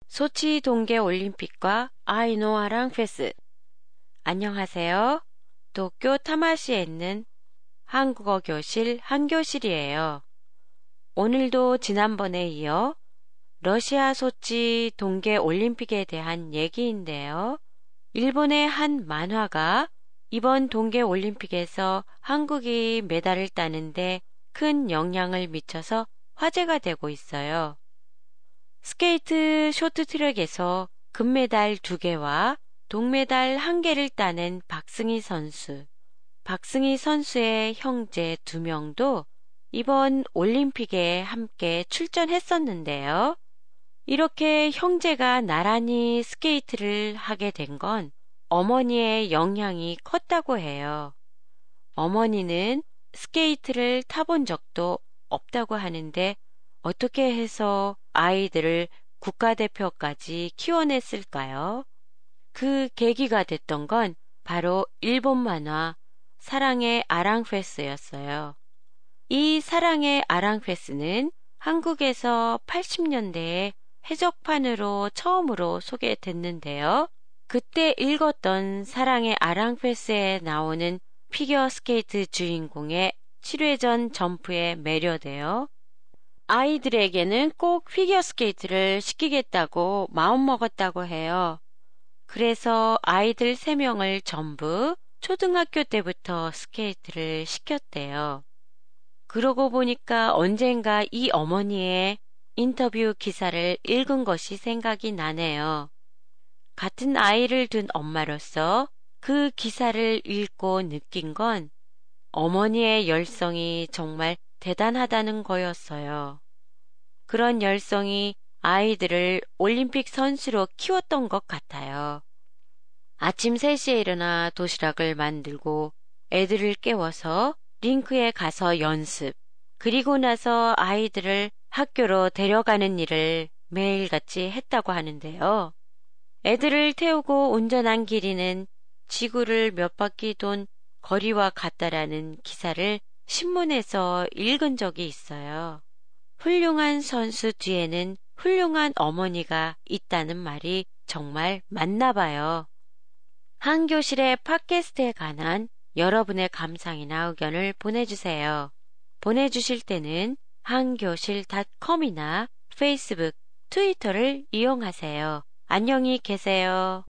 소치 동계올림픽과 아이노아랑 페스. 안녕하세요. 도쿄 타마시에 있는 한국어 교실 한교실이에요. 오늘도 지난번에 이어 러시아 소치 동계올림픽에 대한 얘기인데요. 일본의 한 만화가 이번 동계올림픽에서 한국이 메달을 따는데 큰 영향을 미쳐서 화제가 되고 있어요. 스케이트 쇼트트랙에서 금메달 2개와 동메달 1개를 따낸 박승희 선수, 박승희 선수의 형제 2명도 이번 올림픽에 함께 출전했었는데요. 이렇게 형제가 나란히 스케이트를 하게 된 건 어머니의 영향이 컸다고 해요. 어머니는 스케이트를 타본 적도 없다고 하는데 어떻게 해서 아이들을 국가대표까지 키워냈을까요? 그 계기가 됐던 건 바로 일본 만화 사랑의 아랑페스였어요. 이 사랑의 아랑페스는 한국에서 80년대에 해적판으로 처음으로 소개됐는데요. 그때 읽었던 사랑의 아랑페스에 나오는 피겨스케이트 주인공의 7회전 점프에 매료되어 아이들에게는 꼭 피겨스케이트를 시키겠다고 마음먹었다고 해요. 그래서 아이들 3명을 전부 초등학교 때부터 스케이트를 시켰대요. 그러고 보니까 언젠가 이 어머니의 인터뷰 기사를 읽은 것이 생각이 나네요. 같은 아이를 둔 엄마로서 그 기사를 읽고 느낀 건 어머니의 열성이 정말 대단하다는 거였어요. 그런 열성이 아이들을 올림픽 선수로 키웠던 것 같아요. 아침 3시에 일어나 도시락을 만들고 애들을 깨워서 링크에 가서 연습, 그리고 나서 아이들을 학교로 데려가는 일을 매일같이 했다고 하는데요. 애들을 태우고 운전한 길이는 지구를 몇 바퀴 돈 거리와 같다라는 기사를 신문에서 읽은 적이 있어요. 훌륭한 선수 뒤에는 훌륭한 어머니가 있다는 말이 정말 맞나 봐요. 한교실의 팟캐스트에 관한 여러분의 감상이나 의견을 보내주세요. 보내주실 때는 한교실.com이나 페이스북, 트위터를 이용하세요. 안녕히 계세요.